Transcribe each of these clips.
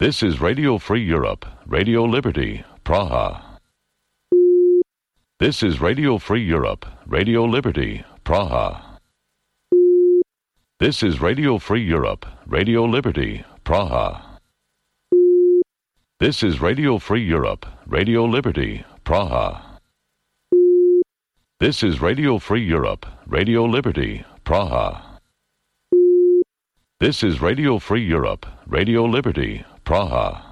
This is Radio Free Europe, Radio Liberty, Praha. This is Radio Free Europe, Radio Liberty, Praha. This is Radio Free Europe, Radio Liberty, Praha. This is Radio Free Europe, Radio Liberty, Praha. This is Radio Free Europe, Radio Liberty, Praha. This is Radio Free Europe, Radio Liberty, Praha.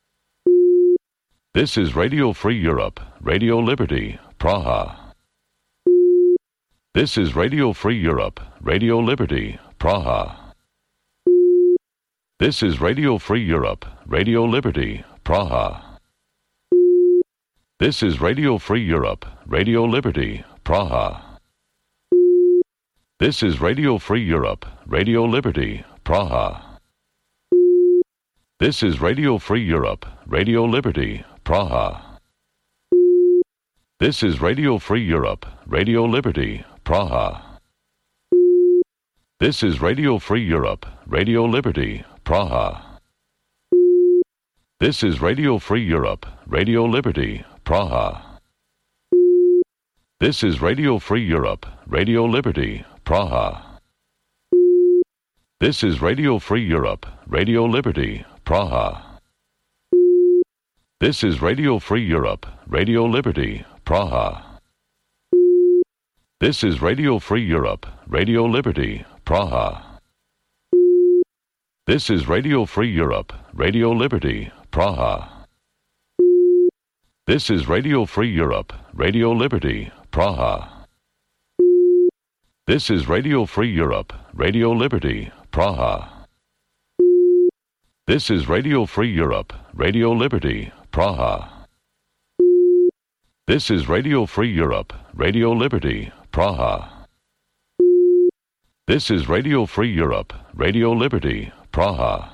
This is Radio Free Europe, Radio Liberty, Praha. This is Radio Free Europe, Radio Liberty, Praha. This is Radio Free Europe, Radio Liberty, Praha. This is Radio Free Europe, Radio Liberty, Praha. This is Radio Free Europe, Radio Liberty, Praha. This is Radio Free Europe, Radio Liberty, Praha. This is Radio Free Europe, Radio Liberty, Praha. This is Radio Free Europe, Radio Liberty, Praha. This is Radio Free Europe, Radio Liberty, Praha. This is Radio Free Europe, Radio Liberty, Praha. This is Radio Free Europe, Radio Liberty, Praha. This is Radio Free Europe, Radio Liberty, Praha. This is Radio Free Europe, Radio Liberty, Praha. This is Radio Free Europe, Radio Liberty, Praha. This is Radio Free Europe, Radio Liberty, Praha. This is Radio Free Europe, Radio Liberty, Praha. This is Radio Free Europe, Radio Liberty, Praha. This is Radio Free Europe, Radio Liberty, Praha. This is Radio Free Europe, Radio Liberty, Praha.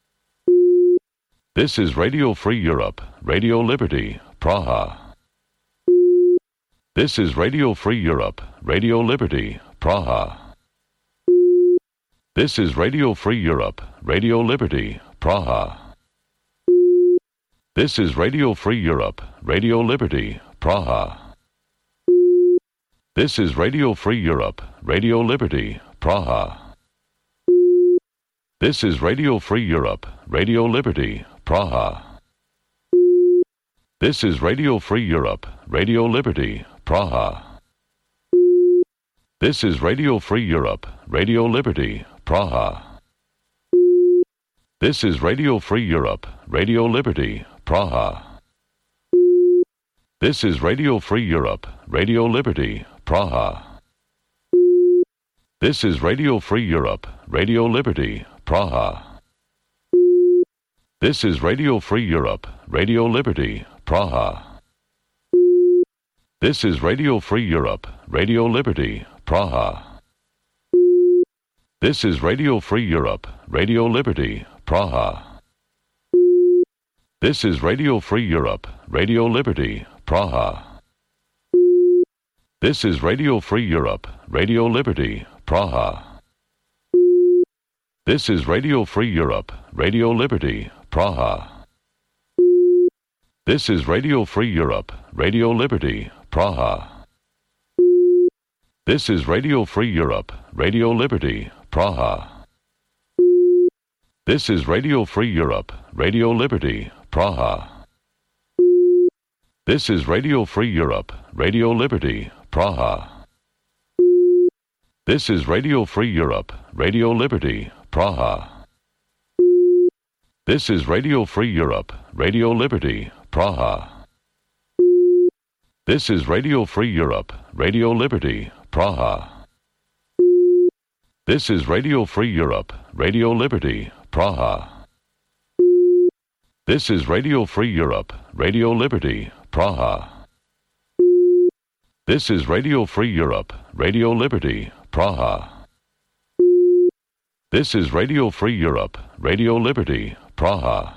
This is Radio Free Europe, Radio Liberty, Praha. This is Radio Free Europe, Radio Liberty, Praha. This is Radio Free Europe, Radio Liberty, Praha. This is Radio Free Europe, Radio Liberty, Praha. This is Radio Free Europe, Radio Liberty, Praha. This is Radio Free Europe, Radio Liberty, Praha. This is Radio Free Europe, Radio Liberty, Praha. This is Radio Free Europe, Radio Liberty, Praha. This is Radio Free Europe, Radio Liberty, Praha. This is Radio Free Europe, Radio Liberty, Praha. This is Radio Free Europe, Radio Liberty, Praha. This is Radio Free Europe, Radio Liberty, Praha. This is Radio Free Europe, Radio Liberty, Praha. This is Radio Free Europe, Radio Liberty, Praha. This is Radio Free Europe, Radio Liberty, Praha. This is Radio Free Europe, Radio Liberty, Praha. This is Radio Free Europe, Radio Liberty, Praha. This is Radio Free Europe, Radio Liberty, Praha. This is Radio Free Europe, Radio Liberty, Praha. This is Radio Free Europe, Radio Liberty, Praha. This is Radio Free Europe, Radio Liberty, Praha. This is Radio Free Europe, Radio Liberty, Praha. This is Radio Free Europe, Radio Liberty, Praha. This is Radio Free Europe, Radio Liberty, Praha. This is Radio Free Europe, Radio Liberty, Praha. This is Radio Free Europe, Radio Liberty, Praha. This is Radio Free Europe, Radio Liberty, Praha. This is Radio Free Europe, Radio Liberty, Praha.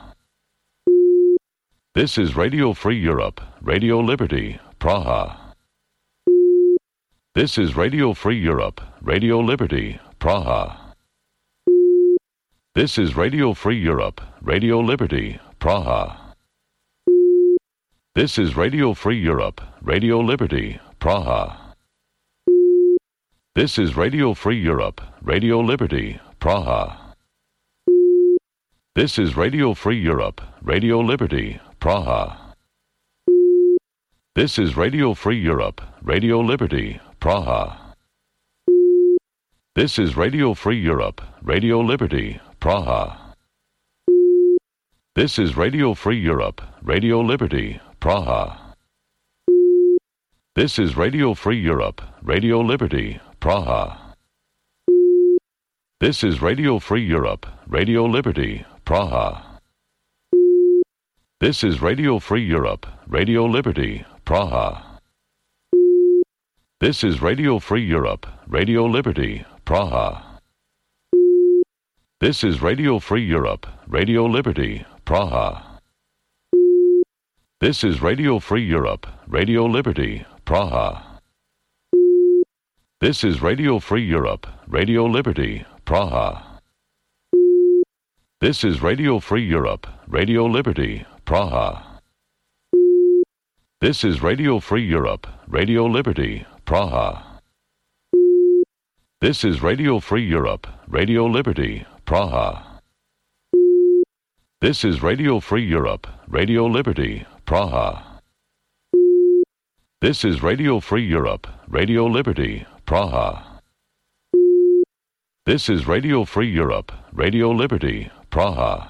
This is Radio Free Europe, Radio Liberty, Praha. This is Radio Free Europe, Radio Liberty, Praha. This is Radio Free Europe, Radio Liberty, Praha. This is Radio Free Europe, Radio Liberty, Praha. This is Radio Free Europe, Radio Liberty, Praha. This is Radio Free Europe, Radio Liberty, Praha. This is Radio Free Europe, Radio Liberty, Praha. This is Radio Free Europe, Radio Liberty, Praha. This is Radio Free Europe, Radio Liberty, Praha. This is Radio Free Europe, Radio Liberty, Praha. This is Radio Free Europe, Radio Liberty, Praha. This is Radio Free Europe, Radio Liberty, Praha. This is Radio Free Europe, Radio Liberty, Praha. This is Radio Free Europe, Radio Liberty, Praha. This is Radio Free Europe, Radio Liberty, Praha. This is Radio Free Europe, Radio Liberty, Praha. This is Radio Free Europe, Radio Liberty, Praha. This is Radio Free Europe, Radio Liberty, Praha. This is Radio Free Europe, Radio Liberty, Praha. This is Radio Free Europe, Radio Liberty, Praha. This is Radio Free Europe, Radio Liberty, Praha. This is Radio Free Europe, Radio Liberty, Praha.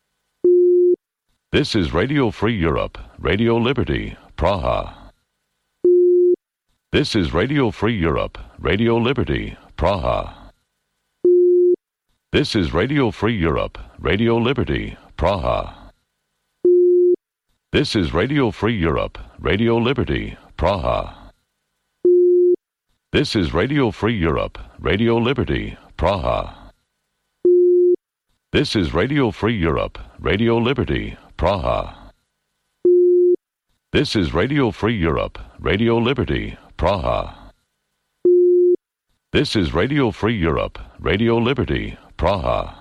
This is Radio Free Europe, Radio Liberty, Praha. This is Radio Free Europe, Radio Liberty, Praha. This is Radio Free Europe, Radio Liberty, Praha. This is Radio Free Europe, Radio Liberty, Praha. This is Radio Free Europe, Radio Liberty, Praha. This is Radio Free Europe, Radio Liberty, Praha. This is Radio Free Europe, Radio Liberty, Praha. This is Radio Free Europe, Radio Liberty, Praha.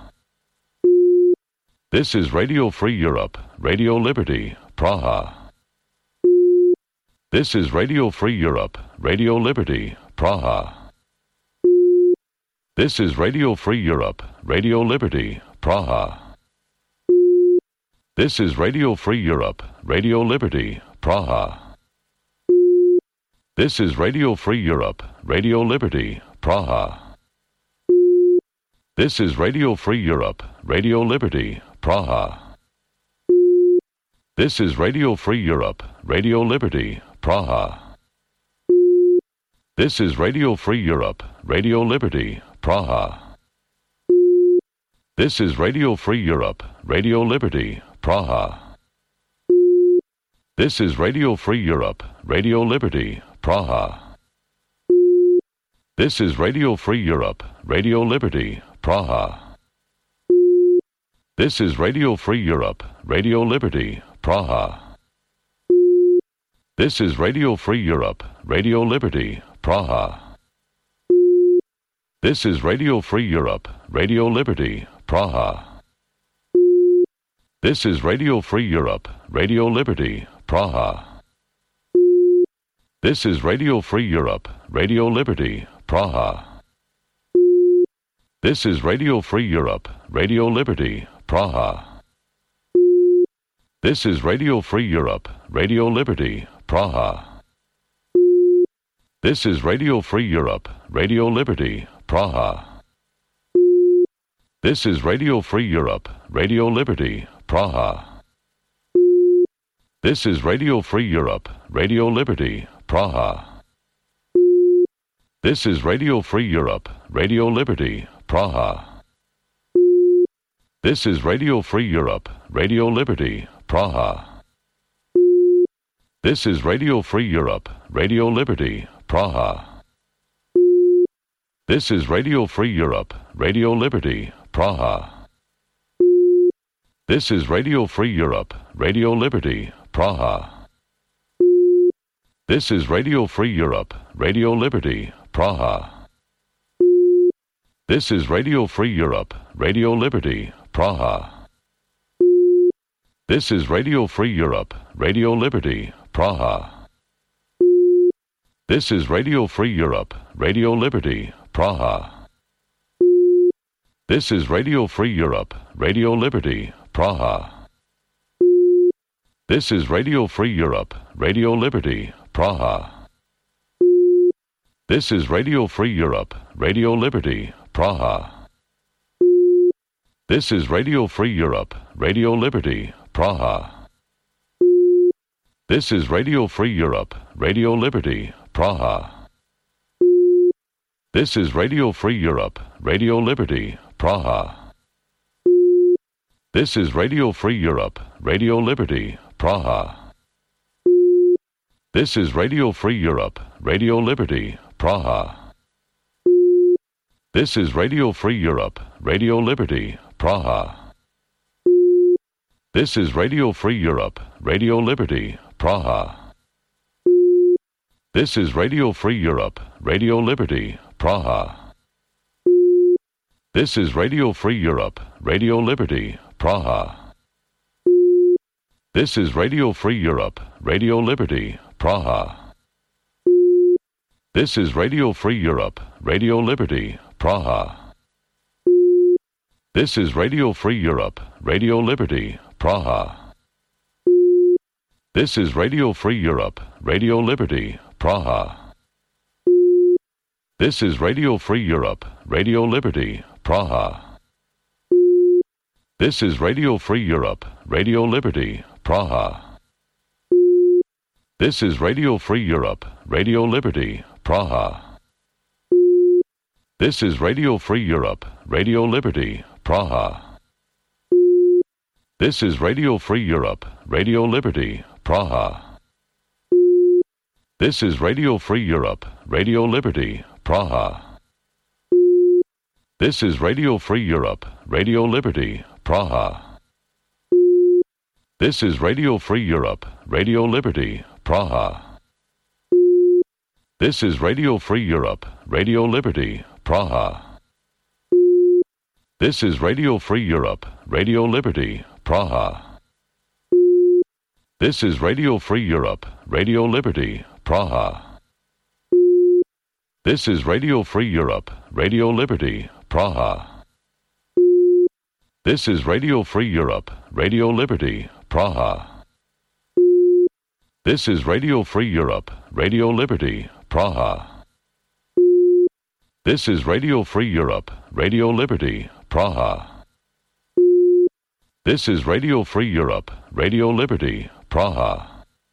This is Radio Free Europe, Radio Liberty, Praha. This is Radio Free Europe, Radio Liberty, Praha. This is Radio Free Europe, Radio Liberty, Praha. This is Radio Free Europe, Radio Liberty, Praha. This is Radio Free Europe, Radio Liberty, Praha. This is Radio Free Europe, Radio Liberty, Praha. This is Radio Free Europe, Radio Liberty, Praha. This is Radio Free Europe, Radio Liberty, Praha. This is Radio Free Europe, Radio Liberty, Praha. This is Radio Free Europe, Radio Liberty, Praha. This is Radio Free Europe, Radio Liberty, Praha. This is Radio Free Europe, Radio Liberty, Praha. This is Radio Free Europe, Radio Liberty, Praha. This is Radio Free Europe, Radio Liberty, Praha. This is Radio Free Europe, Radio Liberty, Praha. This is Radio Free Europe, Radio Liberty, Praha. This is Radio Free Europe, Radio Liberty, Praha. This is Radio Free Europe, Radio Liberty, Praha. This is Radio Free Europe, Radio Liberty, Praha. This is Radio Free Europe, Radio Liberty, Praha. This is Radio Free Europe, Radio Liberty, Praha. This is Radio Free Europe, Radio Liberty, Praha. This is Radio Free Europe, Radio Liberty, Praha. This is Radio Free Europe, Radio Liberty, Praha. This is Radio Free Europe, Radio Liberty, Praha. This is Radio Free Europe, Radio Liberty, Praha. This is Radio Free Europe, Radio Liberty, Praha. This is Radio Free Europe, Radio Liberty, Praha. This is Radio Free Europe, Radio Liberty, Praha. This is Radio Free Europe, Radio Liberty, Praha. This is Radio Free Europe, Radio Liberty, Praha. This is Radio Free Europe, Radio Liberty, Praha. This is Radio Free Europe, Radio Liberty, Praha. This is Radio Free Europe, Radio Liberty, Praha. This is Radio Free Europe, Radio Liberty, Praha. This is Radio Free Europe, Radio Liberty, Praha. This is Radio Free Europe, Radio Liberty, Praha. This is Radio Free Europe, Radio Liberty, Praha. This is Radio Free Europe, Radio Liberty, Praha. This is Radio Free Europe, Radio Liberty, Praha. This is Radio Free Europe, Radio Liberty, Praha. This is Radio Free Europe, Radio Liberty, Praha. This is Radio Free Europe, Radio Liberty, Praha. This is Radio Free Europe, Radio Liberty, Praha. This is Radio Free Europe, Radio Liberty, Praha. This is Radio Free Europe, Radio Liberty, Praha. This is Radio Free Europe, Radio Liberty, Praha. This is Radio Free Europe, Radio Liberty, Praha. This is Radio Free Europe, Radio Liberty, Praha. This is Radio Free Europe, Radio Liberty, Praha. This is Radio Free Europe, Radio Liberty, Praha. This is Radio Free Europe, Radio Liberty, Praha. This is Radio Free Europe, Radio Liberty, Praha. This is Radio Free Europe, Radio Liberty, Praha. This is Radio Free Europe, Radio Liberty, Praha. This is Radio Free Europe, Radio Liberty, Praha. This is Radio Free Europe, Radio Liberty, Praha. This is Radio Free Europe, Radio Liberty, Praha. This is Radio Free Europe, Radio Liberty, Praha. This is Radio Free Europe, Radio Liberty, Praha. This is Radio Free Europe, Radio Liberty, Praha. This is Radio Free Europe, Radio Liberty, Praha.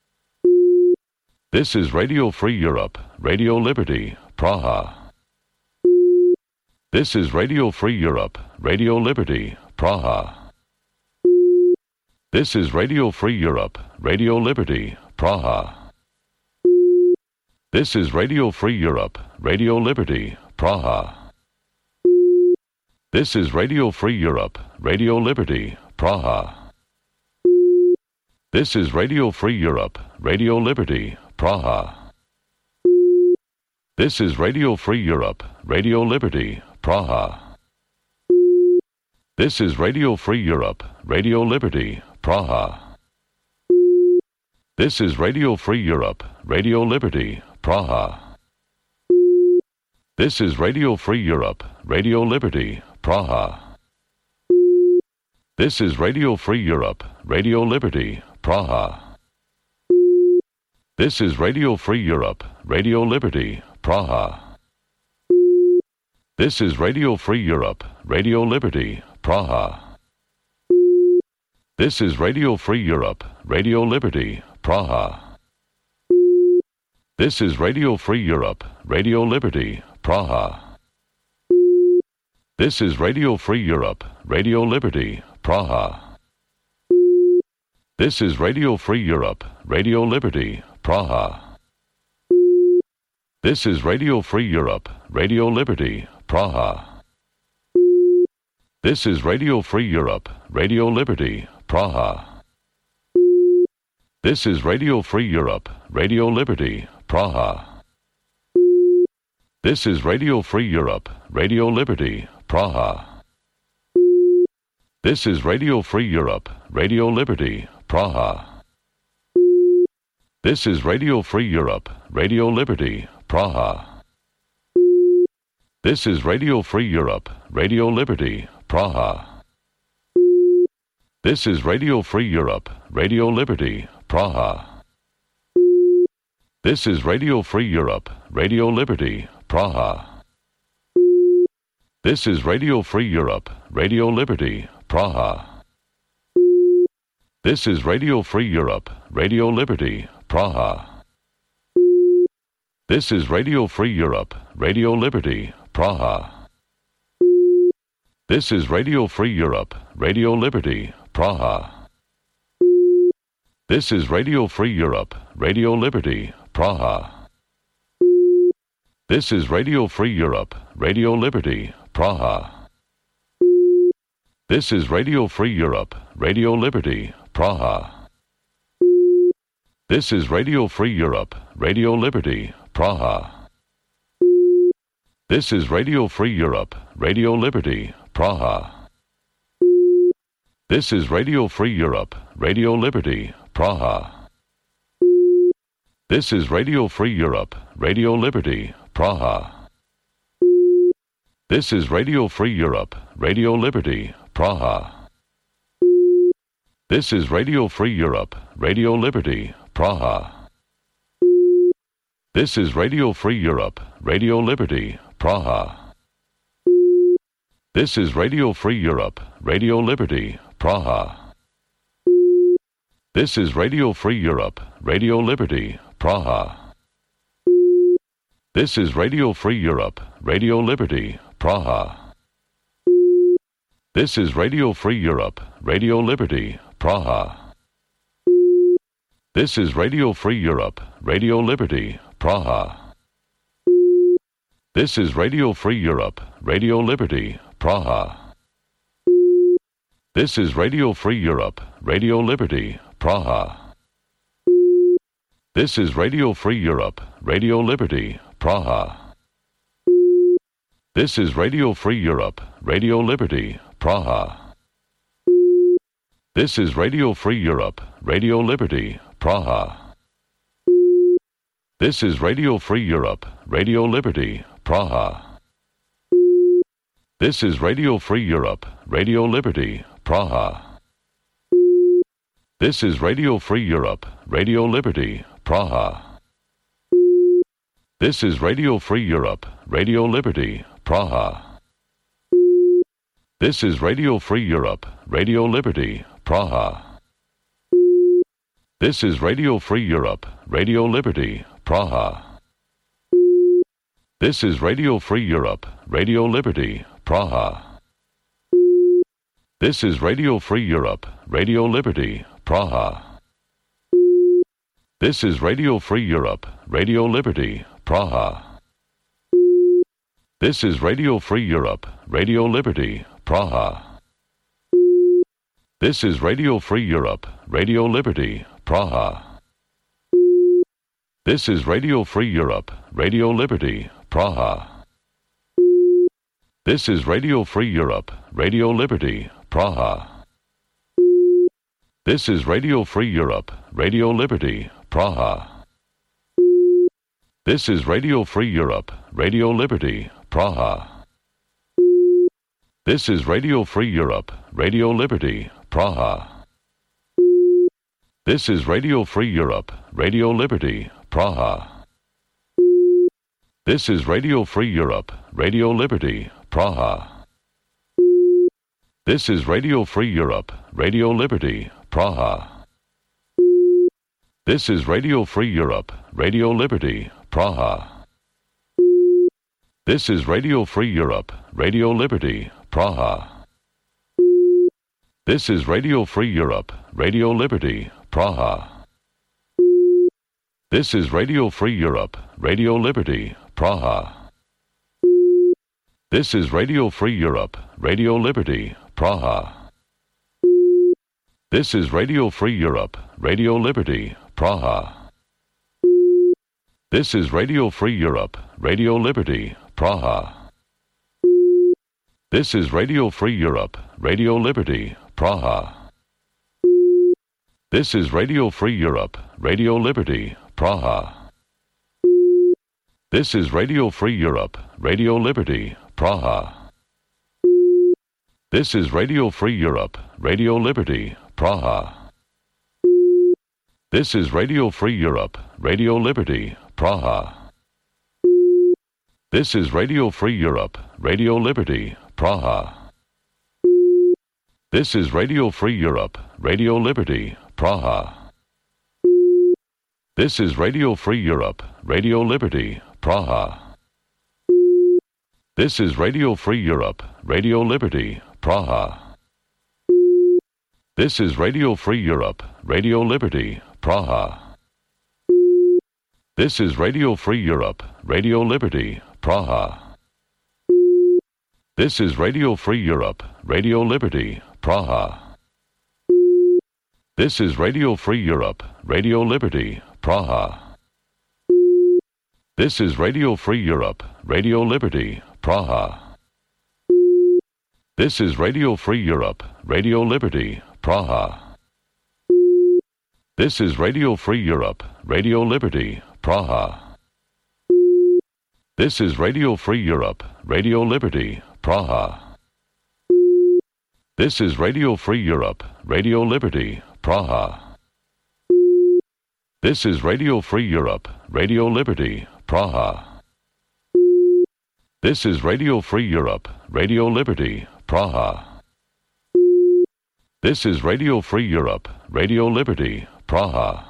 This is Radio Free Europe, Radio Liberty, Praha. This is Radio Free Europe, Radio Liberty, Praha. This is Radio Free Europe, Radio Liberty, Praha. This is Radio Free Europe, Radio Liberty, Praha. This is Radio Free Europe, Radio Liberty, Praha. This is Radio Free Europe, Radio Liberty, Praha. This is Radio Free Europe, Radio Liberty, Praha. This is Radio Free Europe, Radio Liberty, Praha. This is Radio Free Europe, Radio Liberty, Praha. This is Radio Free Europe, Radio Liberty, Praha. This is Radio Free Europe, Radio Liberty, Praha. This is Radio Free Europe, Radio Liberty, Praha. This is Radio Free Europe, Radio Liberty, Praha. This is Radio Free Europe, Radio Liberty, Praha. This is Radio Free Europe, Radio Liberty, Praha. This is Radio Free Europe, Radio Liberty, Praha. This is Radio Free Europe, Radio Liberty, Praha. This is Radio Free Europe, Radio Liberty, Praha. This is Radio Free Europe, Radio Liberty, Praha. This is Radio Free Europe, Radio Liberty, Praha. This is Radio Free Europe, Radio Liberty, Praha. This is Radio Free Europe, Radio Liberty, Praha. This is Radio Free Europe, Radio Liberty, Praha. This is Radio Free Europe, Radio Liberty, Praha. This is Radio Free Europe, Radio Liberty, Praha. This is Radio Free Europe, Radio Liberty, Praha. This is Radio Free Europe, Radio Liberty, Praha. This is Radio Free Europe, Radio Liberty, Praha. This is Radio Free Europe, Radio Liberty, Praha. This is Radio Free Europe, Radio Liberty, Praha. This is Radio Free Europe, Radio Liberty, Praha. This is Radio Free Europe, Radio Liberty, Praha. This is Radio Free Europe, Radio Liberty, Praha. This is Radio Free Europe, Radio Liberty, Praha. This is Radio Free Europe, Radio Liberty, Praha. This is Radio Free Europe, Radio Liberty, Praha. This is Radio Free Europe, Radio Liberty, Praha. This is Radio Free Europe, Radio Liberty, Praha. This is Radio Free Europe, Radio Liberty, Praha. This is Radio Free Europe, Radio Liberty, Praha. This is Radio Free Europe, Radio Liberty, Praha. This is Radio Free Europe, Radio Liberty, Praha. This is Radio Free Europe, Radio Liberty, Praha. This is Radio Free Europe, Radio Liberty, Praha. This is Radio Free Europe, Radio Liberty, Praha. This is Radio Free Europe, Radio Liberty, Praha. This is Radio Free Europe, Radio Liberty, Praha. This is Radio Free Europe, Radio Liberty, Praha. This is Radio Free Europe, Radio Liberty, Praha. This is Radio Free Europe, Radio Liberty, Praha. This is Radio Free Europe, Radio Liberty, Praha. This is Radio Free Europe, Radio Liberty, Praha. This is Radio Free Europe, Radio Liberty, Praha. This is Radio Free Europe, Radio Liberty, Praha. This is Radio Free Europe, Radio Liberty, Praha. This is Radio Free Europe, Radio Liberty, Praha. This is Radio Free Europe, Radio Liberty, Praha. This is Radio Free Europe, Radio Liberty, Praha. This is Radio Free Europe, Radio Liberty, Praha. This is Radio Free Europe, Radio Liberty, Praha. This is Radio Free Europe, Radio Liberty, Praha. This is Radio Free Europe, Radio Liberty, Praha. This is Radio Free Europe, Radio Liberty, Praha. This is Radio Free Europe, Radio Liberty, Praha. This is Radio Free Europe, Radio Liberty, Praha. This is Radio Free Europe, Radio Liberty, Praha. This is Radio Free Europe, Radio Liberty, Praha. This is Radio Free Europe, Radio Liberty, Praha. This is Radio Free Europe, Radio Liberty, Praha. This is Radio Free Europe, Radio Liberty, Praha. This is Radio Free Europe, Radio Liberty, Praha. This is Radio Free Europe, Radio Liberty, Praha. This is Radio Free Europe, Radio Liberty, Praha. This is Radio Free Europe, Radio Liberty, Praha. This is Radio Free Europe, Radio Liberty, Praha. This is Radio Free Europe, Radio Liberty, Praha. This is Radio Free Europe, Radio Liberty, Praha. This is Radio Free Europe, Radio Liberty, Praha. This is Radio Free Europe, Radio Liberty, Praha. This is Radio Free Europe, Radio Liberty, Praha. This is Radio Free Europe, Radio Liberty, Praha. This is Radio Free Europe, Radio Liberty, Praha. This is Radio Free Europe, Radio Liberty, Praha. This is Radio Free Europe, Radio Liberty, Praha. This is Radio Free Europe, Radio Liberty, Praha. This is Radio Free Europe, Radio Liberty, Praha. This is Radio Free Europe, Radio Liberty, Praha. This is Radio Free Europe, Radio Liberty, Praha. This is Radio Free Europe, Radio Liberty, Praha. This is Radio Free Europe, Radio Liberty, Praha. This is Radio Free Europe, Radio Liberty, Praha. This is Radio Free Europe, Radio Liberty, Praha. This is Radio Free Europe, Radio Liberty, Praha. This is Radio Free Europe, Radio Liberty, Praha. This is Radio Free Europe, Radio Liberty, Praha. This is Radio Free Europe, Radio Liberty, Praha. This is Radio Free Europe, Radio Liberty, Praha.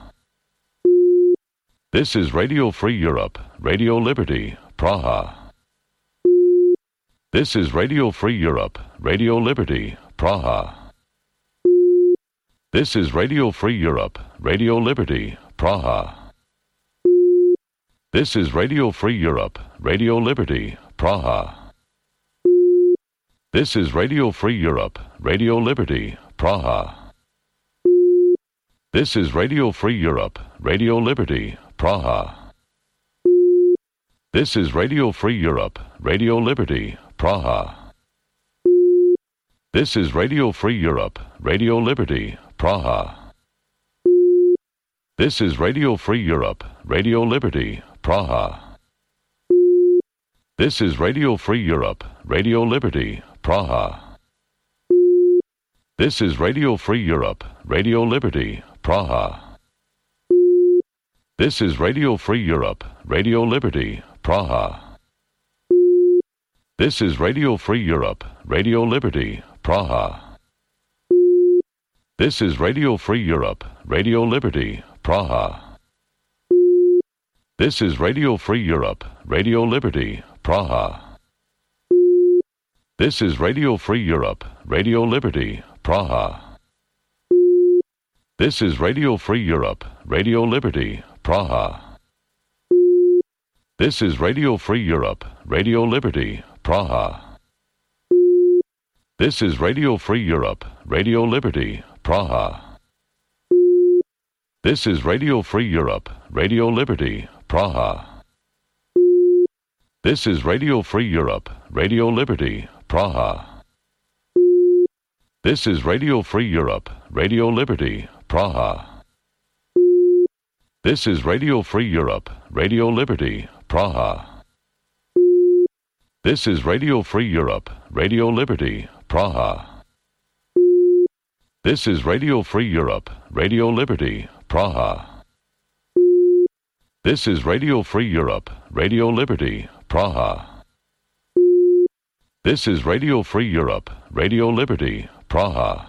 This is Radio Free Europe, Radio Liberty, Praha. This is Radio Free Europe, Radio Liberty, Praha. This is Radio Free Europe, Radio Liberty, Praha. This is Radio Free Europe, Radio Liberty, Praha. This is Radio Free Europe, Radio Liberty, Praha. This is Radio Free Europe, Radio Liberty, Praha. This is Radio Free Europe, Radio Liberty, Praha. This is Radio Free Europe, Radio Liberty, Praha. This is Radio Free Europe, Radio Liberty, Praha. This is Radio Free Europe, Radio Liberty, Praha. This is Radio Free Europe, Radio Liberty, Praha. This is Radio Free Europe, Radio Liberty, Praha. This is Radio Free Europe, Radio Liberty, Praha. This is Radio Free Europe, Radio Liberty, Praha. This is Radio Free Europe, Radio Liberty, Praha. This is Radio Free Europe, Radio Liberty, Praha. This is Radio Free Europe, Radio Liberty, Praha. This is Radio Free Europe, Radio Liberty, Praha. This is Radio Free Europe, Radio Liberty, Praha. This is Radio Free Europe, Radio Liberty, Praha. This is Radio Free Europe, Radio Liberty, Praha. This is Radio Free Europe, Radio Liberty, Praha. This is Radio Free Europe, Radio Liberty, Praha. This is Radio Free Europe, Radio Liberty, Praha. This is Radio Free Europe, Radio Liberty, Praha. This is Radio Free Europe, Radio Liberty, Praha. This is Radio Free Europe, Radio Liberty, Praha.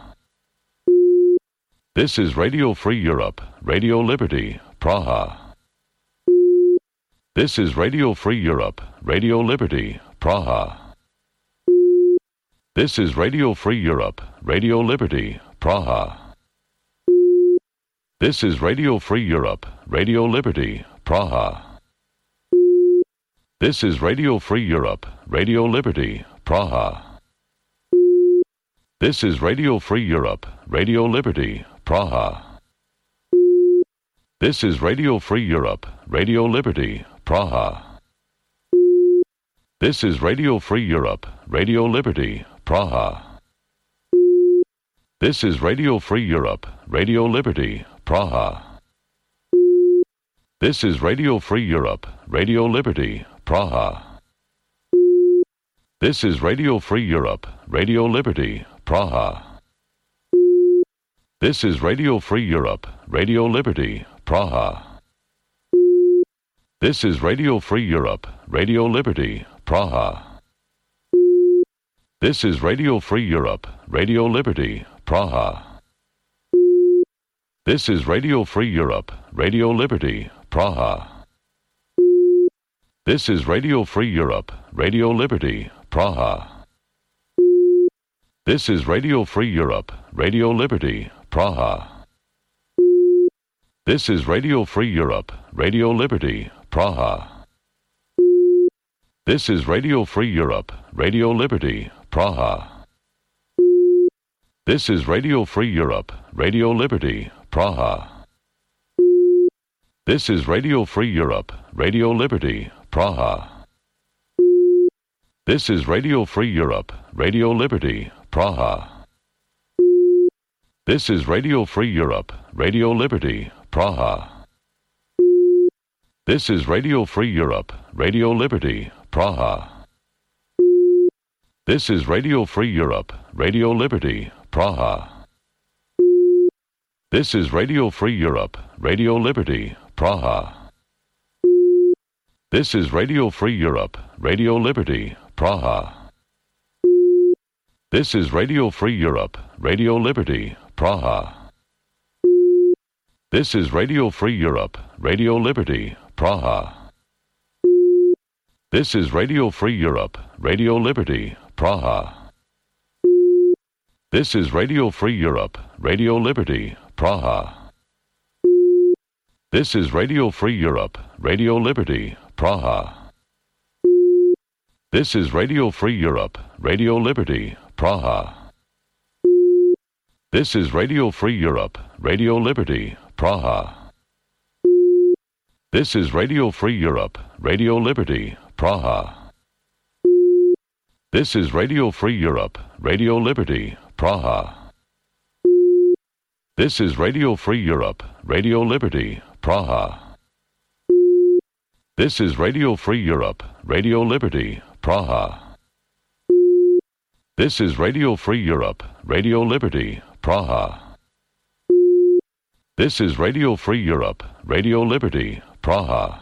This is Radio Free Europe, Radio Liberty, Praha. This is Radio Free Europe, Radio Liberty, Praha. This is Radio Free Europe, Radio Liberty, Praha. This is Radio Free Europe, Radio Liberty, Praha. This is Radio Free Europe, Radio Liberty, Praha. This is Radio Free Europe, Radio Liberty, Praha. This is Radio Free Europe, Radio Liberty, Praha. This is Radio Free Europe, Radio Liberty, Praha. This is Radio Free Europe, Radio Liberty, Praha. This is Radio Free Europe, Radio Liberty, Praha. This is Radio Free Europe, Radio Liberty, Praha. This is Radio Free Europe, Radio Liberty, Praha. This is Radio Free Europe, Radio Liberty, Praha. This is Radio Free Europe, Radio Liberty, Praha. This is Radio Free Europe, Radio Liberty, Praha. This is Radio Free Europe, Radio Liberty, Praha. This is Radio Free Europe, Radio Liberty, Praha. This is Radio Free Europe, Radio Liberty, Praha. This is Radio Free Europe, Radio Liberty, Praha. This is Radio Free Europe, Radio Liberty, Praha. This is Radio Free Europe, Radio Liberty, Praha. This is Radio Free Europe, Radio Liberty, Praha. This is Radio Free Europe, Radio Liberty, Praha. This is Radio Free Europe, Radio Liberty, Praha. This is Radio Free Europe, Radio Liberty, Praha. This is Radio Free Europe, Radio Liberty, Praha. This is Radio Free Europe, Radio Liberty, Praha. This is Radio Free Europe, Radio Liberty, Praha. This is Radio Free Europe, Radio Liberty, Praha. This is Radio Free Europe, Radio Liberty, Praha. This is Radio Free Europe, Radio Liberty, Praha. This is Radio Free Europe, Radio Liberty, Praha. This is Radio Free Europe, Radio Liberty, Praha. This is Radio Free Europe, Radio Liberty, Praha. This is Radio Free Europe, Radio Liberty, Praha. This is Radio Free Europe, Radio Liberty, Praha. This is Radio Free Europe, Radio Liberty, Praha. This is Radio Free Europe, Radio Liberty, Praha. This is Radio Free Europe, Radio Liberty, Praha. This is Radio Free Europe, Radio Liberty, Praha.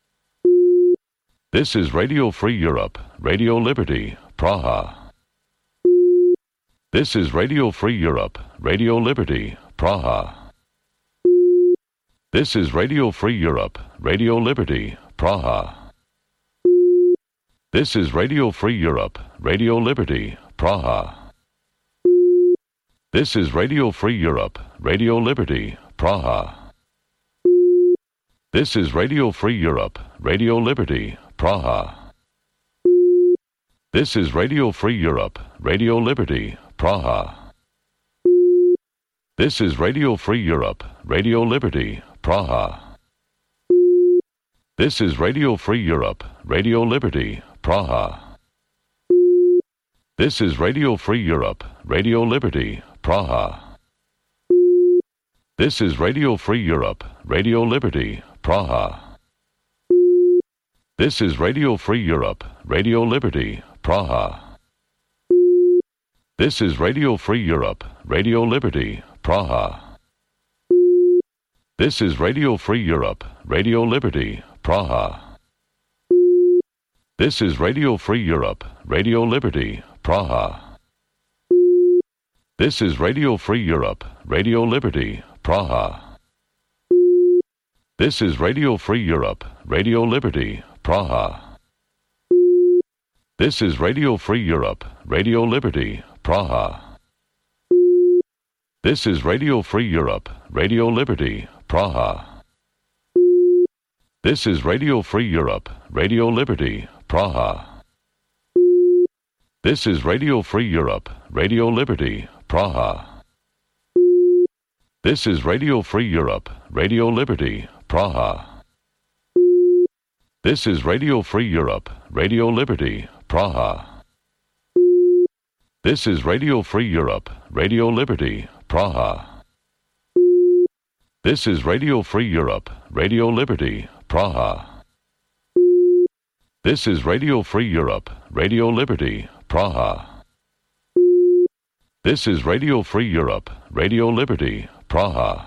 This is Radio Free Europe, Radio Liberty, Praha. This is Radio Free Europe, Radio Liberty, Praha. This is Radio Free Europe, Radio Liberty, Praha. This is Radio Free Europe, Radio Liberty, Praha. This is Radio Free Europe, Radio Liberty, Praha. This is Radio Free Europe, Radio Liberty, Praha. This is Radio Free Europe, Radio Liberty, Praha. This is Radio Free Europe, Radio Liberty, Praha. This is Radio Free Europe, Radio Liberty, Praha. This is Radio Free Europe, Radio Liberty, Praha. This is Radio Free Europe, Radio Liberty, Praha. This is Radio Free Europe, Radio Liberty, Praha. This is Radio Free Europe, Radio Liberty, Praha. This is Radio Free Europe, Radio Liberty, Praha. This is Radio Free Europe, Radio Liberty, Praha. This is Radio Free Europe, Radio Liberty, Praha. This is Radio Free Europe, Radio Liberty, Praha. This is Radio Free Europe, Radio Liberty, Praha. This is Radio Free Europe, Radio Liberty, Praha. This is Radio Free Europe, Radio Liberty, Praha. This is Radio Free Europe, Radio Liberty, Praha. This is Radio Free Europe, Radio Liberty, Praha. This is Radio Free Europe, Radio Liberty, Praha. This is Radio Free Europe, Radio Liberty, Praha. This is Radio Free Europe, Radio Liberty, Praha. This is Radio Free Europe, Radio Liberty, Praha. This is Radio Free Europe, Radio Liberty, Praha.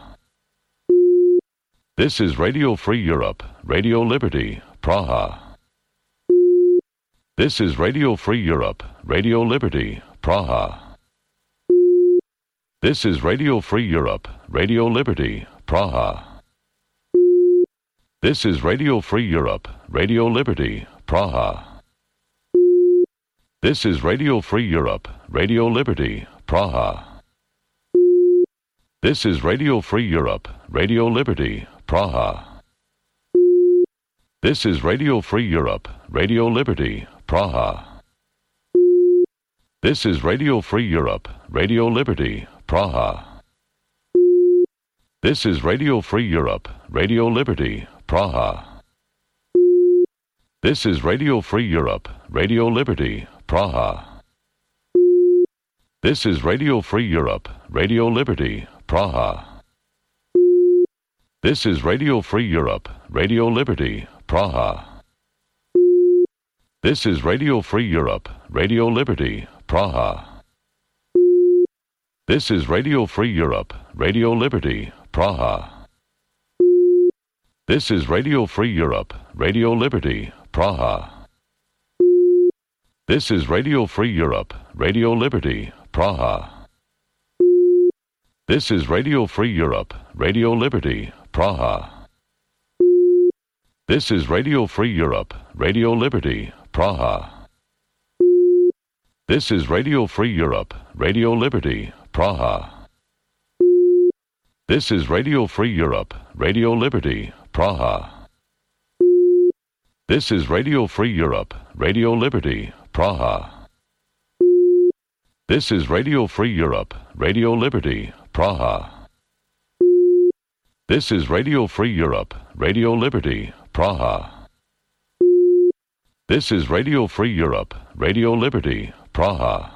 This is Radio Free Europe, Radio Liberty, Praha. This is Radio Free Europe, Radio Liberty, Praha. This is Radio Free Europe, Radio Liberty, Praha. This is Radio Free Europe, Radio Liberty, Praha. This is Radio Free Europe, Radio Liberty, Praha. This is Radio Free Europe, Radio Liberty, Praha. This is Radio Free Europe, Radio Liberty, Praha. This is Radio Free Europe, Radio Liberty, Praha. This is Radio Free Europe, Radio Liberty, Praha. This is Radio Free Europe, Radio Liberty, Praha. This is Radio Free Europe, Radio Liberty, Praha. This is Radio Free Europe, Radio Liberty, Praha. This is Radio Free Europe, Radio Liberty, Praha. This is Radio Free Europe, Radio Liberty, Praha. This is Radio Free Europe, Radio Liberty, Praha. This is Radio Free Europe, Radio Liberty, Praha. This is Radio Free Europe, Radio Liberty, Praha. This is Radio Free Europe, Radio Liberty, Praha. This is Radio Free Europe, Radio Liberty, Praha. This is Radio Free Europe, Radio Liberty, Praha. This is Radio Free Europe, Radio Liberty, Praha. This is Radio Free Europe, Radio Liberty, Praha. This is Radio Free Europe, Radio Liberty, Praha. This is Radio Free Europe, Radio Liberty, Praha.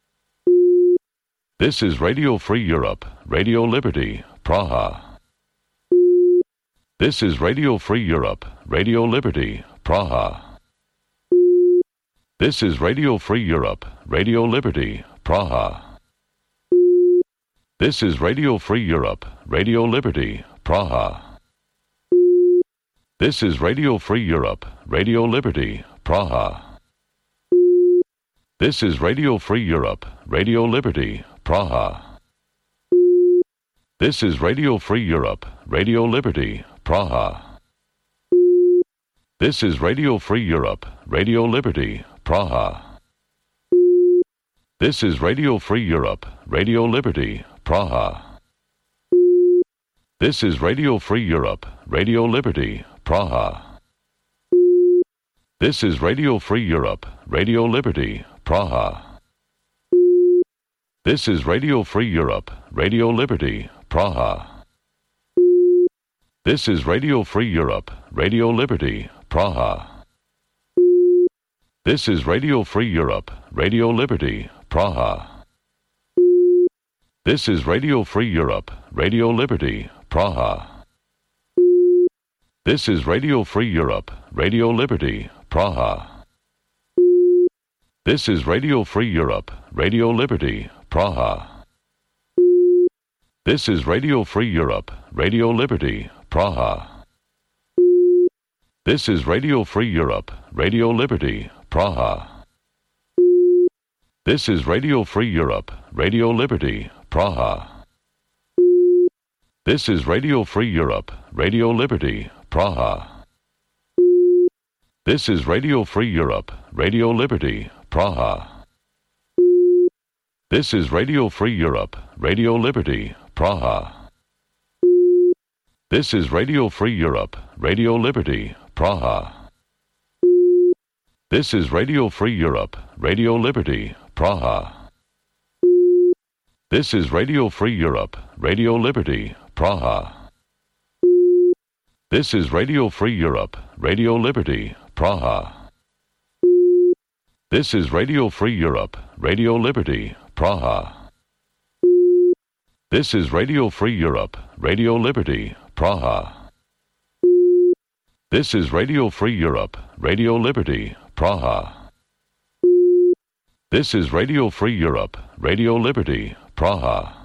This is Radio Free Europe, Radio Liberty, Praha. This is Radio Free Europe, Radio Liberty, Praha. This is Radio Free Europe, Radio Liberty, Praha. This is Radio Free Europe, Radio Liberty, Praha. This is Radio Free Europe, Radio Liberty, Praha. This is Radio Free Europe, Radio Liberty, Praha. This is Radio Free Europe, Radio Liberty, Praha. This is Radio Free Europe, Radio Liberty, Praha. This is Radio Free Europe, Radio Liberty, Praha. This is Radio Free Europe, Radio Liberty, Praha. This is Radio Free Europe, Radio Liberty, Praha. This is Radio Free Europe, Radio Liberty, Praha. This is Radio Free Europe, Radio Liberty, Praha. This is Radio Free Europe, Radio Liberty, Praha. This is Radio Free Europe, Radio Liberty, Praha. This is Radio Free Europe, Radio Liberty, Praha. This is Radio Free Europe, Radio Liberty, Praha. This is Radio Free Europe, Radio Liberty, Praha. This is Radio Free Europe, Radio Liberty, Praha. This is Radio Free Europe, Radio Liberty, Praha. This is Radio Free Europe, Radio Liberty, Praha. This is Radio Free Europe, Radio Liberty, Praha. This is Radio Free Europe, Radio Liberty, Praha. This is Radio Free Europe, Radio Liberty, Praha. This is Radio Free Europe, Radio Liberty, Praha. This is Radio Free Europe, Radio Liberty, Praha. This is Radio Free Europe, Radio Liberty, Praha. This is Radio Free Europe, Radio Liberty, Praha. This is Radio Free Europe, Radio Liberty, Praha. This is Radio Free Europe, Radio Liberty, Praha. This is Radio Free Europe, Radio Liberty, Praha.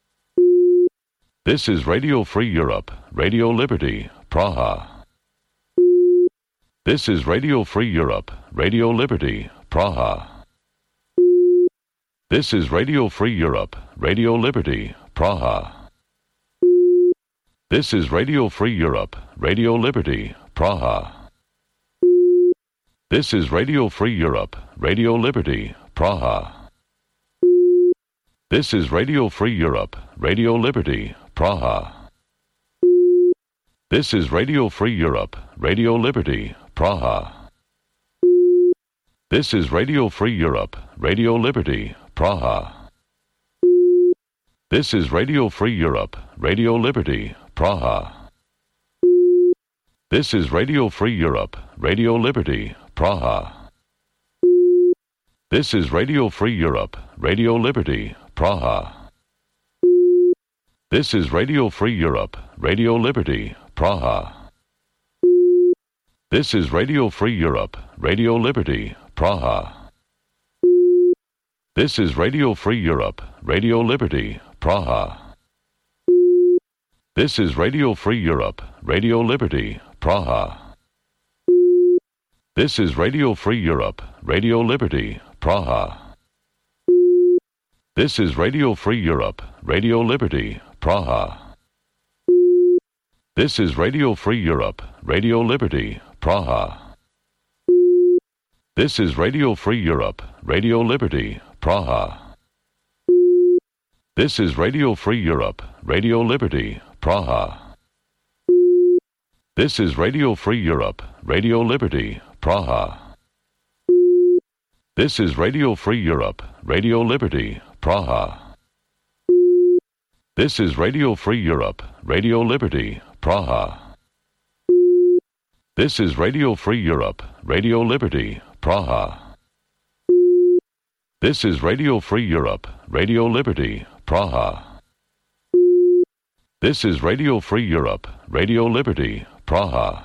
This is Radio Free Europe, Radio Liberty, Praha. This is Radio Free Europe, Radio Liberty, Praha. This is Radio Free Europe, Radio Liberty, Praha. This is Radio Free Europe, Radio Liberty, Praha. This is Radio Free Europe, Radio Liberty, Praha. This is Radio Free Europe, Radio Liberty, Praha. This is Radio Free Europe, Radio Liberty, Praha. This is Radio Free Europe, Radio Liberty, Praha. This is Radio Free Europe, Radio Liberty, Praha. This is Radio Free Europe, Radio Liberty, Praha. This is Radio Free Europe, Radio Liberty, Praha. This is Radio Free Europe, Radio Liberty, Praha. This is Radio Free Europe, Radio Liberty, Praha. This is Radio Free Europe, Radio Liberty, Praha. This is Radio Free Europe, Radio Liberty, Praha. This is Radio Free Europe, Radio Liberty, Praha. This is Radio Free Europe, Radio Liberty, Praha. This is Radio Free Europe, Radio Liberty, Praha. This is Radio Free Europe, Radio Liberty, Praha. This is Radio Free Europe, Radio Liberty, Praha. This is Radio Free Europe, Radio Liberty, Praha. This is Radio Free Europe, Radio Liberty, Praha. This is Radio Free Europe, Radio Liberty, Praha. This is Radio Free Europe, Radio Liberty, Praha. This is Radio Free Europe, Radio Liberty, Praha. This is Radio Free Europe, Radio Liberty, Praha.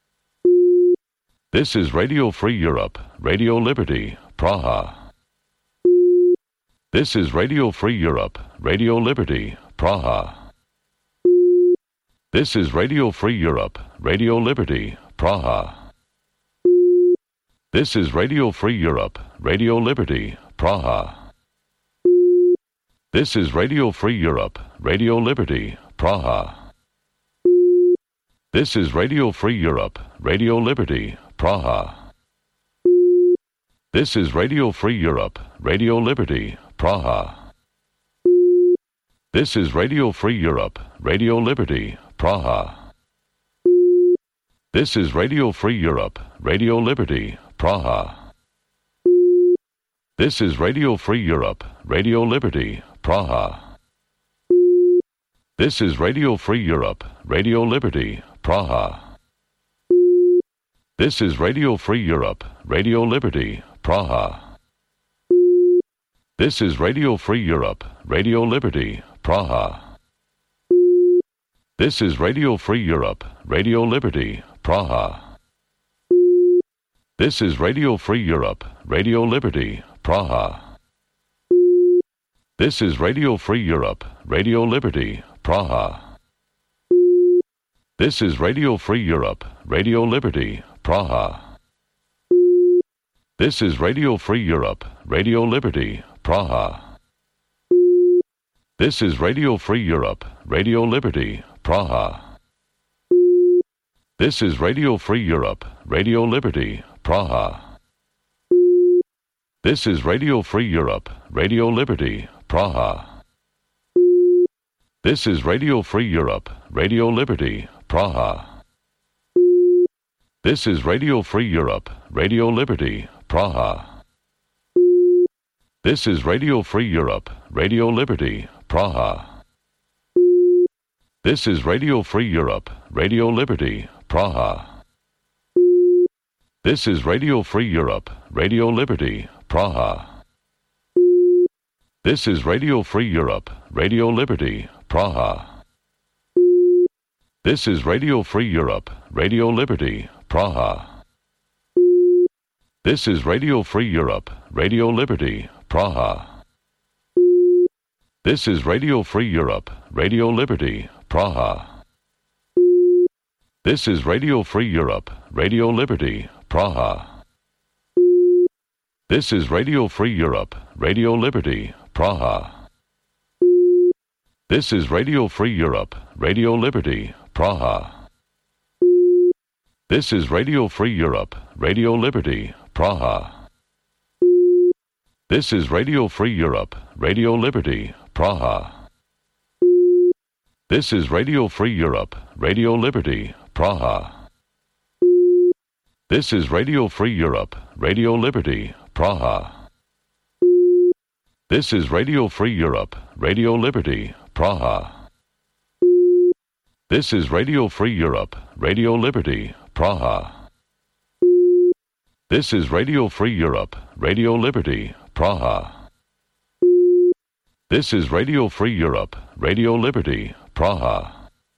This is Radio Free Europe, Radio Liberty, Praha. This is Radio Free Europe, Radio Liberty, Praha. This is Radio Free Europe, Radio Liberty, Praha. This is Radio Free Europe, Radio Liberty, Praha. This is Radio Free Europe, Radio Liberty, Praha. This is Radio Free Europe, Radio Liberty, Praha. This is Radio Free Europe, Radio Liberty, Praha. This is Radio Free Europe, Radio Liberty, Praha. This is Radio Free Europe, Radio Liberty, Praha. This is Radio Free Europe, Radio Liberty, Praha. This is Radio Free Europe, Radio Liberty, Praha. This is Radio Free Europe, Radio Liberty, Praha. This is Radio Free Europe, Radio Liberty, Praha. This is Radio Free Europe, Radio Liberty, Praha. This is Radio Free Europe, Radio Liberty, Praha. This is Radio Free Europe, Radio Liberty, Praha. This is Radio Free Europe, Radio Liberty, Praha. This is Radio Free Europe, Radio Liberty, Praha. This is Radio Free Europe, Radio Liberty, Praha. This is Radio Free Europe, Radio Liberty, Praha. This is Radio Free Europe, Radio Liberty, Praha. This is Radio Free Europe, Radio Liberty, Praha. This is Radio Free Europe, Radio Liberty, Praha. This is Radio Free Europe, Radio Liberty, Praha. This is Radio Free Europe, Radio Liberty, Praha. This is Radio Free Europe, Radio Liberty, Praha. This is Radio Free Europe, Radio Liberty, Praha. This is Radio Free Europe, Radio Liberty, Praha. This is Radio Free Europe, Radio Liberty, Praha. This is Radio Free Europe, Radio Liberty, Praha. This is Radio Free Europe, Radio Liberty, Praha. This is Radio Free Europe, Radio Liberty, Praha. This is Radio Free Europe, Radio Liberty, Praha. This is Radio Free Europe, Radio Liberty, Praha. This is Radio Free Europe, Radio Liberty, Praha. This is Radio Free Europe, Radio Liberty, Praha. This is Radio Free Europe, Radio Liberty, Praha. This is Radio Free Europe, Radio Liberty, Praha. This is Radio Free Europe, Radio Liberty, Praha. This is Radio Free Europe, Radio Liberty, Praha. This is Radio Free Europe, Radio Liberty, Praha.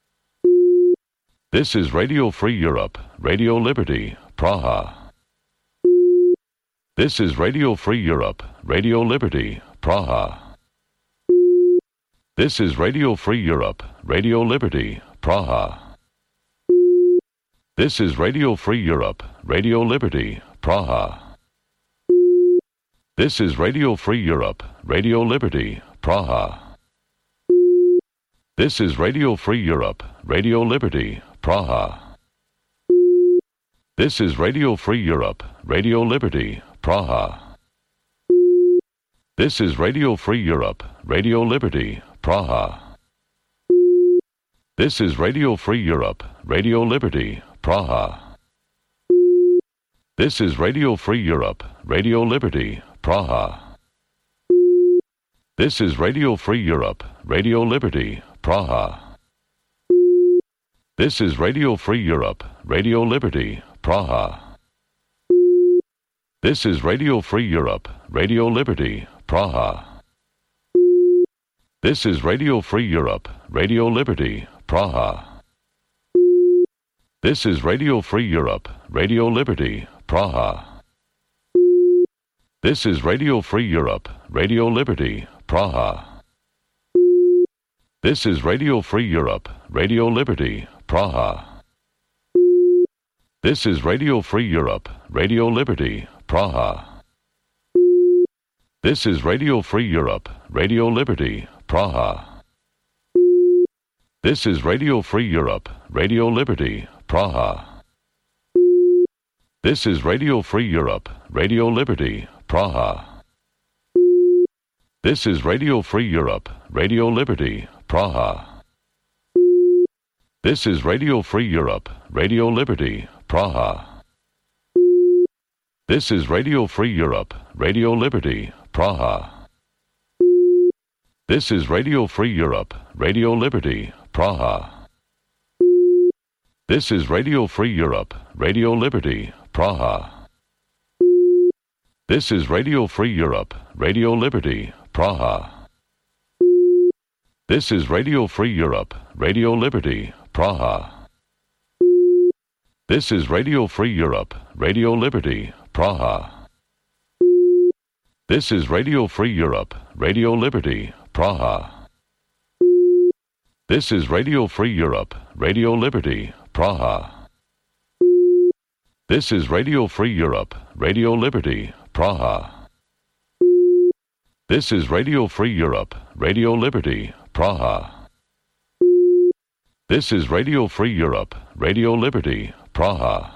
This is Radio Free Europe, Radio Liberty, Praha. This is Radio Free Europe, Radio Liberty, Praha. This is Radio Free Europe, Radio Liberty, Praha. This is Radio Free Europe, Radio Liberty, Praha. This is Radio Free Europe, Radio Liberty, Praha. This is Radio Free Europe, Radio Liberty, Praha. This is Radio Free Europe, Radio Liberty, Praha. This is Radio Free Europe, Radio Liberty, Praha. This is Radio Free Europe, Radio Liberty, Praha. This is Radio Free Europe, Radio Liberty, Praha. This is Radio Free Europe, Radio Liberty, Praha. This is Radio Free Europe, Radio Liberty, Praha. This is Radio Free Europe, Radio Liberty, Praha. This is Radio Free Europe, Radio Liberty, Praha. This is Radio Free Europe, Radio Liberty, Praha. This is Radio Free Europe, Radio Liberty, Praha. This is Radio Free Europe, Radio Liberty, Praha. This is Radio Free Europe, Radio Liberty, Praha. This is Radio Free Europe, Radio Liberty, Praha. This is Radio Free Europe, Radio Liberty, Praha. This is Radio Free Europe, Radio Liberty, Praha. This is Radio Free Europe, Radio Liberty, Praha. This is Radio Free Europe, Radio Liberty, Praha. This is Radio Free Europe, Radio Liberty, Praha. This is Radio Free Europe, Radio Liberty, Praha. This is Radio Free Europe, Radio Liberty, Praha. This is Radio Free Europe, Radio Liberty, Praha. This is Radio Free Europe, Radio Liberty, Praha. This is Radio Free Europe, Radio Liberty, Praha. This is Radio Free Europe, Radio Liberty, Praha. This is Radio Free Europe, Radio Liberty, Praha. This is Radio Free Europe, Radio Liberty, Praha. This is Radio Free Europe, Radio Liberty, Praha. This is Radio Free Europe, Radio Liberty, Praha.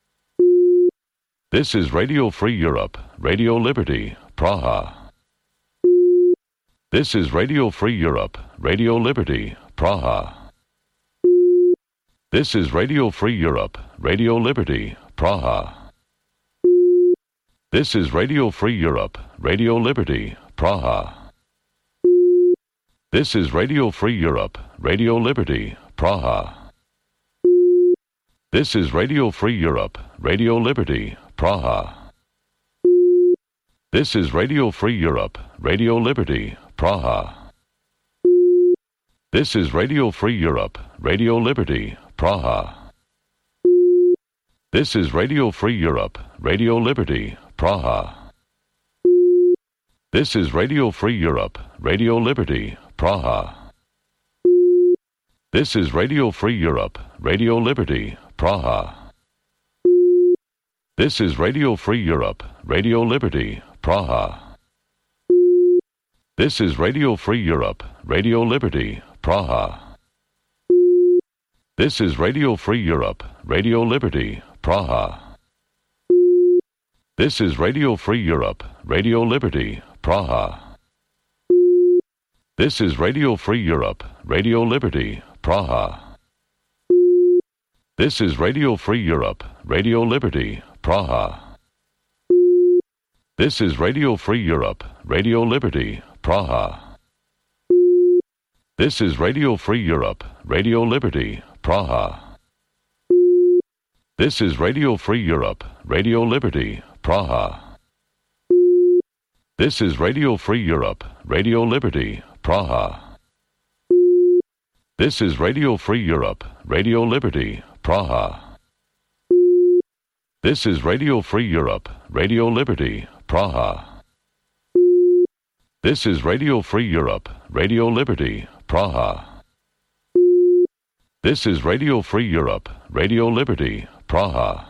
This is Radio Free Europe, Radio Liberty, Praha. This is Radio Free Europe, Radio Liberty, Praha. This is Radio Free Europe, Radio Liberty, Praha. This is Radio Free Europe, Radio Liberty, Praha. This is Radio Free Europe, Radio Liberty, Praha. This is Radio Free Europe, Radio Liberty, Praha. This is Radio Free Europe, Radio Liberty, Praha. This is Radio Free Europe, Radio Liberty, Praha. This is Radio Free Europe, Radio Liberty, Praha. This is Radio Free Europe, Radio Liberty, Praha. This is Radio Free Europe, Radio Liberty, Praha. This is Radio Free Europe, Radio Liberty, Praha. This is Radio Free Europe, Radio Liberty, Praha. This is Radio Free Europe, Radio Liberty, Praha. This is Radio Free Europe, Radio Liberty, Praha. This is Radio Free Europe, Radio Liberty, Praha. This is Radio Free Europe, Radio Liberty, Praha. This is Radio Free Europe, Radio Liberty, Praha. This is Radio Free Europe, Radio Liberty, Praha. This is Radio Free Europe, Radio Liberty, Praha. This is Radio Free Europe, Radio Liberty, Praha. This is Radio Free Europe, Radio Liberty, Praha. This is Radio Free Europe, Radio Liberty, Praha. This is Radio Free Europe, Radio Liberty, Praha. This is Radio Free Europe, Radio Liberty, Praha.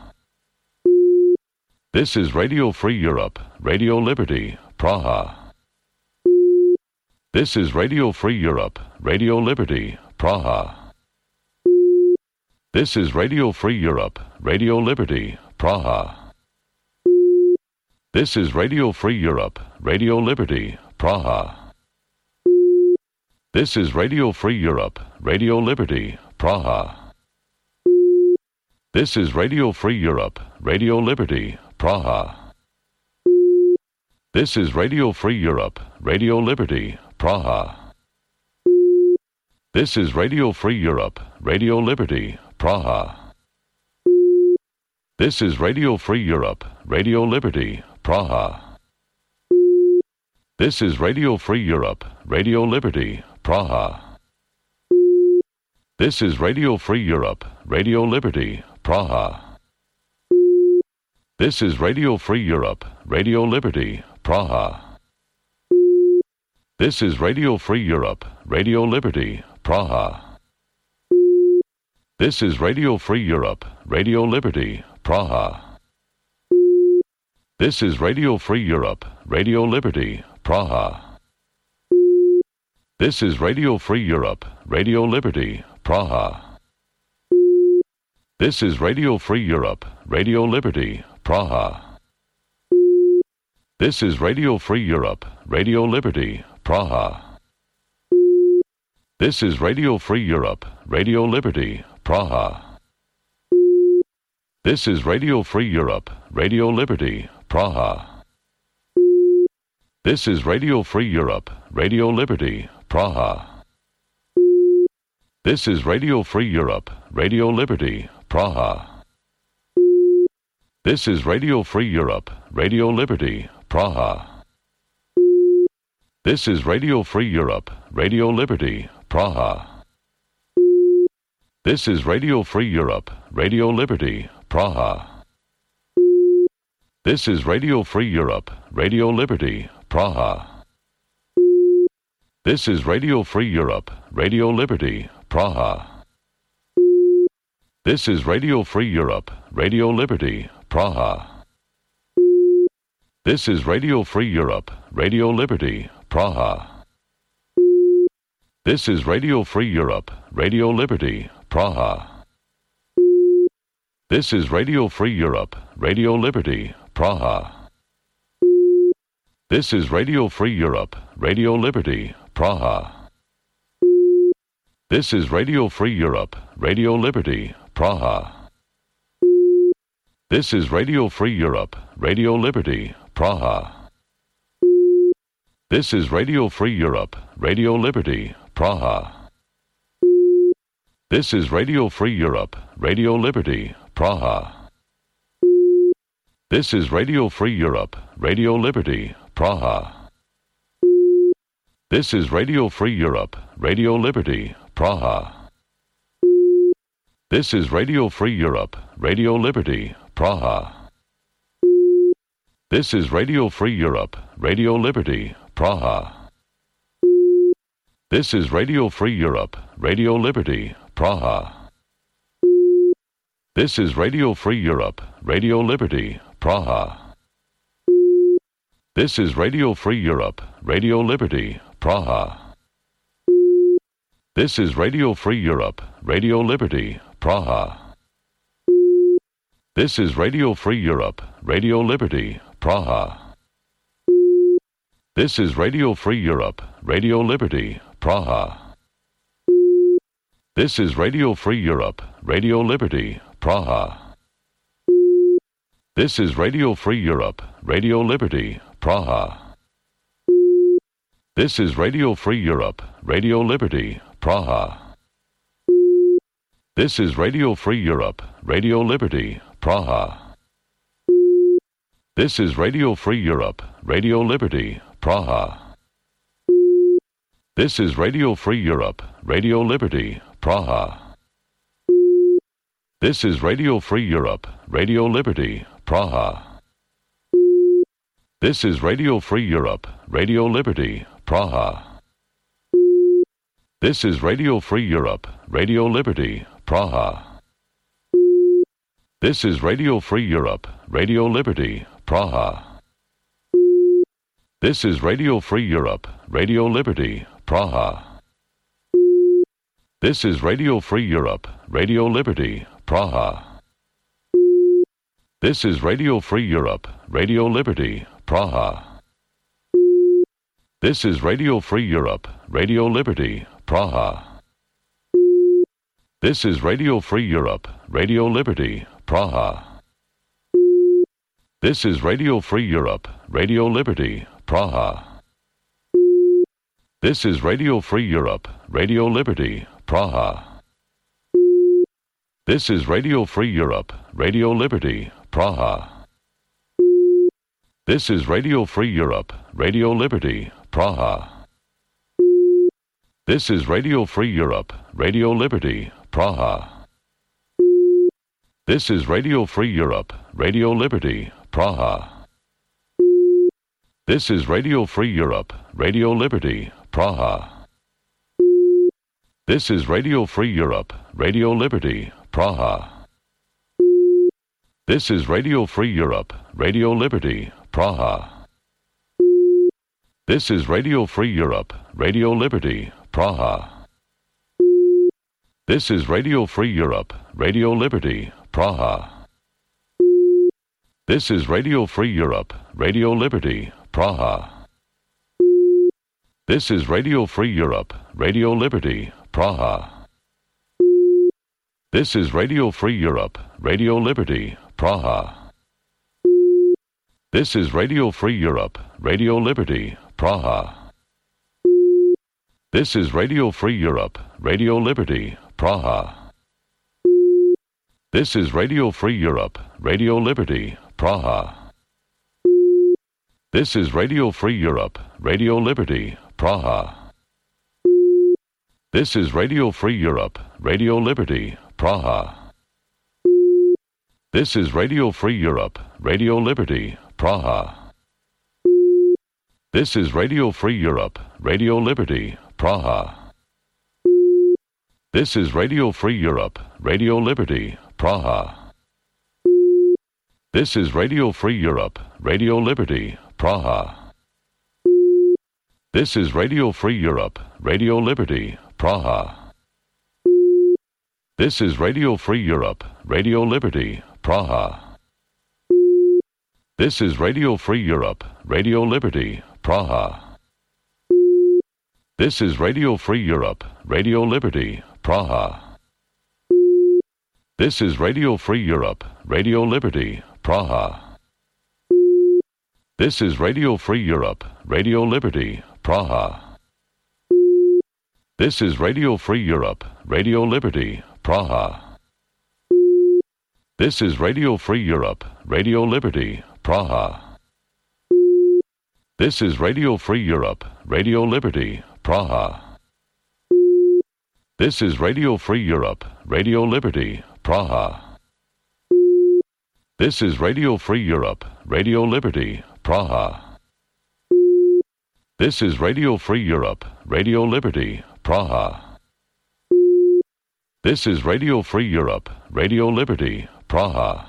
This is Radio Free Europe, Radio Liberty, Praha. This is Radio Free Europe, Radio Liberty, Praha. This is Radio Free Europe, Radio Liberty, Praha. This is Radio Free Europe, Radio Liberty, Praha. This is Radio Free Europe, Radio Liberty, Praha. This is Radio Free Europe, Radio Liberty, Praha. This is Radio Free Europe, Radio Liberty, Praha. This is Radio Free Europe, Radio Liberty, Praha. This is Radio Free Europe, Radio Liberty, Praha. This is Radio Free Europe, Radio Liberty, Praha. This is Radio Free Europe, Radio Liberty, Praha. This is Radio Free Europe, Radio Liberty, Praha. This is Radio Free Europe, Radio Liberty, Praha. This is Radio Free Europe, Radio Liberty, Praha. This is Radio Free Europe, Radio Liberty, Praha. This is Radio Free Europe, Radio Liberty, Praha. This is Radio Free Europe, Radio Liberty, Praha. This is Radio Free Europe, Radio Liberty, Praha. This is Radio Free Europe, Radio Liberty, Praha. This is Radio Free Europe, Radio Liberty, Praha. This is Radio Free Europe, Radio Liberty, Praha. This is Radio Free Europe, Radio Liberty, Praha. This is Radio Free Europe, Radio Liberty, Praha. This is Radio Free Europe, Radio Liberty, Praha. This is Radio Free Europe, Radio Liberty, Praha. This is Radio Free Europe, Radio Liberty, Praha. This is Radio Free Europe, Radio Liberty, Praha. This is Radio Free Europe, Radio Liberty, Praha. This is Radio Free Europe, Radio Liberty, Praha. This is Radio Free Europe, Radio Liberty, Praha. This is Radio Free Europe, Radio Liberty, Praha. This is Radio Free Europe, Radio Liberty, Praha. This is Radio Free Europe, Radio Liberty, Praha. This is Radio Free Europe, Radio Liberty, Praha. This is Radio Free Europe, Radio Liberty, Praha. This is Radio Free Europe, Radio Liberty, Praha. This is Radio Free Europe, Radio Liberty, Praha. This is Radio Free Europe, Radio Liberty, Praha. This is Radio Free Europe, Radio Liberty, Praha. This is Radio Free Europe, Radio Liberty, Praha. This is Radio Free Europe, Radio Liberty, Praha. This is Radio Free Europe, Radio Liberty, Praha. This is Radio Free Europe, Radio Liberty, Praha. This is Radio Free Europe, Radio Liberty, Praha. This is Radio Free Europe, Radio Liberty, Praha. This is Radio Free Europe, Radio Liberty, Praha. This is Radio Free Europe, Radio Liberty, Praha. This is Radio Free Europe, Radio Liberty, Praha. This is Radio Free Europe, Radio Liberty, Praha. This is Radio Free Europe, Radio Liberty, Praha. This is Radio Free Europe, Radio Liberty, Praha. This is Radio Free Europe, Radio Liberty, Praha. This is Radio Free Europe, Radio Liberty, Praha. This is Radio Free Europe, Radio Liberty, Praha. This is Radio Free Europe, Radio Liberty, Praha. This is Radio Free Europe, Radio Liberty, Praha. This is Radio Free Europe, Radio Liberty, Praha. This is Radio Free Europe, Radio Liberty, Praha. This is Radio Free Europe, Radio Liberty, Praha. This is Radio Free Europe, Radio Liberty, Praha. This is Radio Free Europe, Radio Liberty, Praha. This is Radio Free Europe, Radio Liberty, Praha. This is Radio Free Europe, Radio Liberty, Praha. This is Radio Free Europe, Radio Liberty, Praha. This is Radio Free Europe, Radio Liberty, Praha. This is Radio Free Europe, Radio Liberty, Praha. This is Radio Free Europe, Radio Liberty, Praha. This is Radio Free Europe, Radio Liberty, Praha. This is Radio Free Europe, Radio Liberty, Praha. This is Radio Free Europe, Radio Liberty, Praha. This is Radio Free Europe, Radio Liberty, Praha. This is Radio Free Europe, Radio Liberty, Praha. This is Radio Free Europe, Radio Liberty, Praha. This is Radio Free Europe, Radio Liberty, Praha. This is Radio Free Europe, Radio Liberty, Praha. This is Radio Free Europe, Radio Liberty, Praha. This is Radio Free Europe, Radio Liberty, Praha. This is Radio Free Europe, Radio Liberty, Praha. This is Radio Free Europe, Radio Liberty, Praha. This is Radio Free Europe, Radio Liberty, Praha. This is Radio Free Europe, Radio Liberty, Praha. This is Radio Free Europe, Radio Liberty, Praha. This is Radio Free Europe, Radio Liberty, Praha. This is Radio Free Europe, Radio Liberty, Praha. This is Radio Free Europe, Radio Liberty, Praha. This is Radio Free Europe, Radio Liberty, Praha. This is Radio Free Europe, Radio Liberty, Praha. This is Radio Free Europe, Radio Liberty, Praha. This is Radio Free Europe, Radio Liberty, Praha. This is Radio Free Europe, Radio Liberty, Praha. This is Radio Free Europe, Radio Liberty, Praha. This is Radio Free Europe, Radio Liberty, Praha. This is Radio Free Europe, Radio Liberty, Praha. This is Radio Free Europe, Radio Liberty, Praha. This is Radio Free Europe, Radio Liberty, Praha. This is Radio Free Europe, Radio Liberty, Praha. This is Radio Free Europe, Radio Liberty, Praha.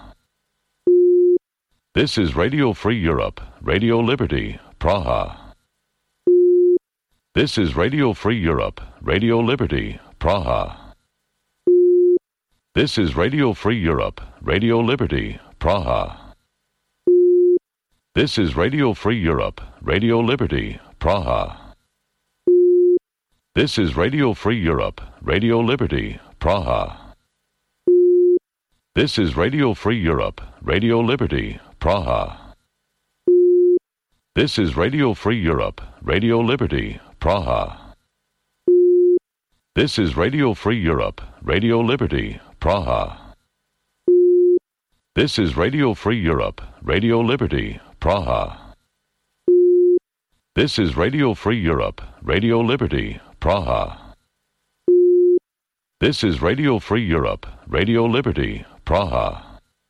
This is Radio Free Europe, Radio Liberty, Praha. This is Radio Free Europe, Radio Liberty, Praha. This is Radio Free Europe, Radio Liberty, Praha. This is Radio Free Europe, Radio Liberty, Praha. This is Radio Free Europe, Radio Liberty, Praha. This is Radio Free Europe, Radio Liberty, Praha. This is Radio Free Europe, Radio Liberty, Praha. This is Radio Free Europe, Radio Liberty, Praha. This is Radio Free Europe, Radio Liberty, Praha. This is Radio Free Europe, Radio Liberty, Praha. This is Radio Free Europe, Radio Liberty, Praha.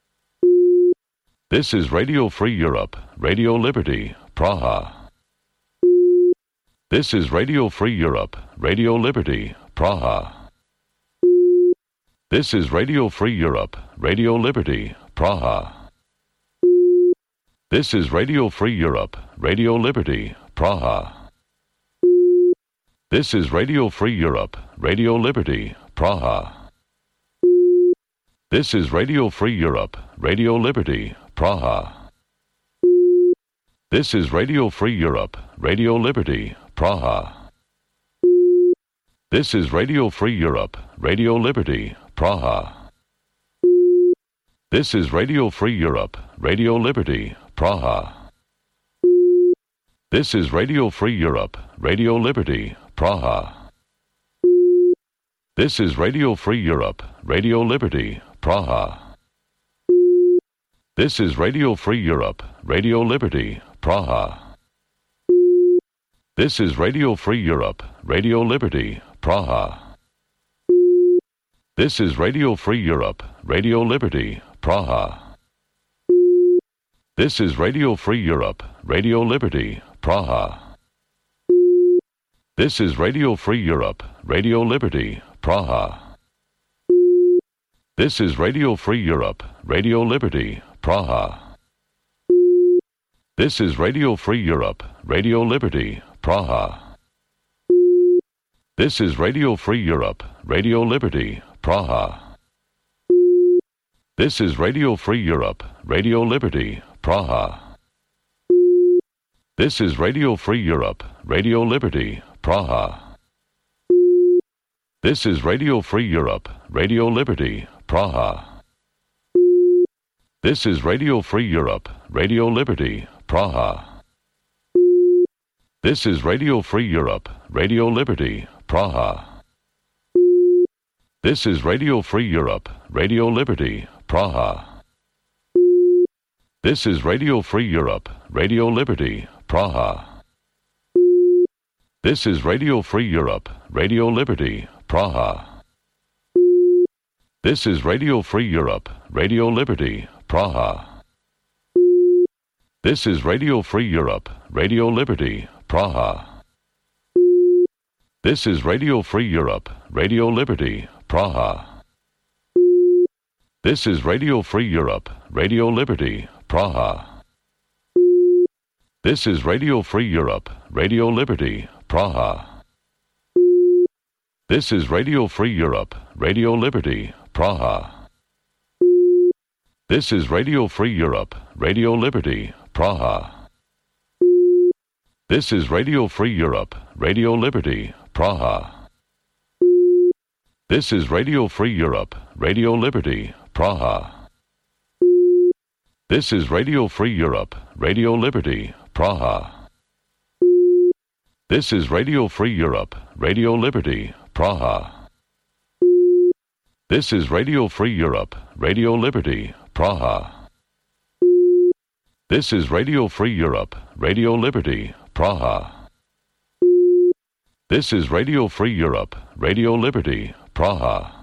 This is Radio Free Europe, Radio Liberty, Praha. This is Radio Free Europe, Radio Liberty, Praha. This is Radio Free Europe, Radio Liberty, Praha. This is Radio Free Europe, Radio Liberty, Praha. This is Radio Free Europe, Radio Liberty, Praha. This is Radio Free Europe, Radio Liberty, Praha. This is Radio Free Europe, Radio Liberty, Praha. This is Radio Free Europe, Radio Liberty, Praha. This is Radio Free Europe, Radio Liberty, Praha. This is Radio Free Europe, Radio Liberty, Praha. This is Radio Free Europe, Radio Liberty, Praha. This is Radio Free Europe, Radio Liberty, Praha. This is Radio Free Europe, Radio Liberty, Praha. This is Radio Free Europe, Radio Liberty, Praha. This is Radio Free Europe, Radio Liberty, Praha. This is Radio Free Europe, Radio Liberty, Praha. This is Radio Free Europe, Radio Liberty, Praha. This is Radio Free Europe, Radio Liberty, Praha. This is Radio Free Europe, Radio Liberty, Praha. This is Radio Free Europe, Radio Liberty, Praha. This is Radio Free Europe, Radio Liberty, Praha. This is Radio Free Europe, Radio Liberty, Praha. This is Radio Free Europe, Radio Liberty, Praha. This is Radio Free Europe, Radio Liberty, Praha. This is Radio Free Europe, Radio Liberty, Praha. This is Radio Free Europe, Radio Liberty, Praha. This is Radio Free Europe, Radio Liberty, Praha. This is Radio Free Europe, Radio Liberty, Praha. This is Radio Free Europe, Radio Liberty, Praha. This is Radio Free Europe, Radio Liberty, Praha. This is Radio Free Europe, Radio Liberty, Praha. This is Radio Free Europe, Radio Liberty, Praha. This is Radio Free Europe, Radio Liberty, Praha. This is Radio Free Europe, Radio Liberty, Praha. This is Radio Free Europe, Radio Liberty, Praha. This is Radio Free Europe, Radio Liberty, Praha. This is Radio Free Europe, Radio Liberty, Praha. This is Radio Free Europe, Radio Liberty, Praha. This is Radio Free Europe, Radio Liberty, Praha. This is Radio Free Europe, Radio Liberty, Praha. This is Radio Free Europe, Radio Liberty, Praha.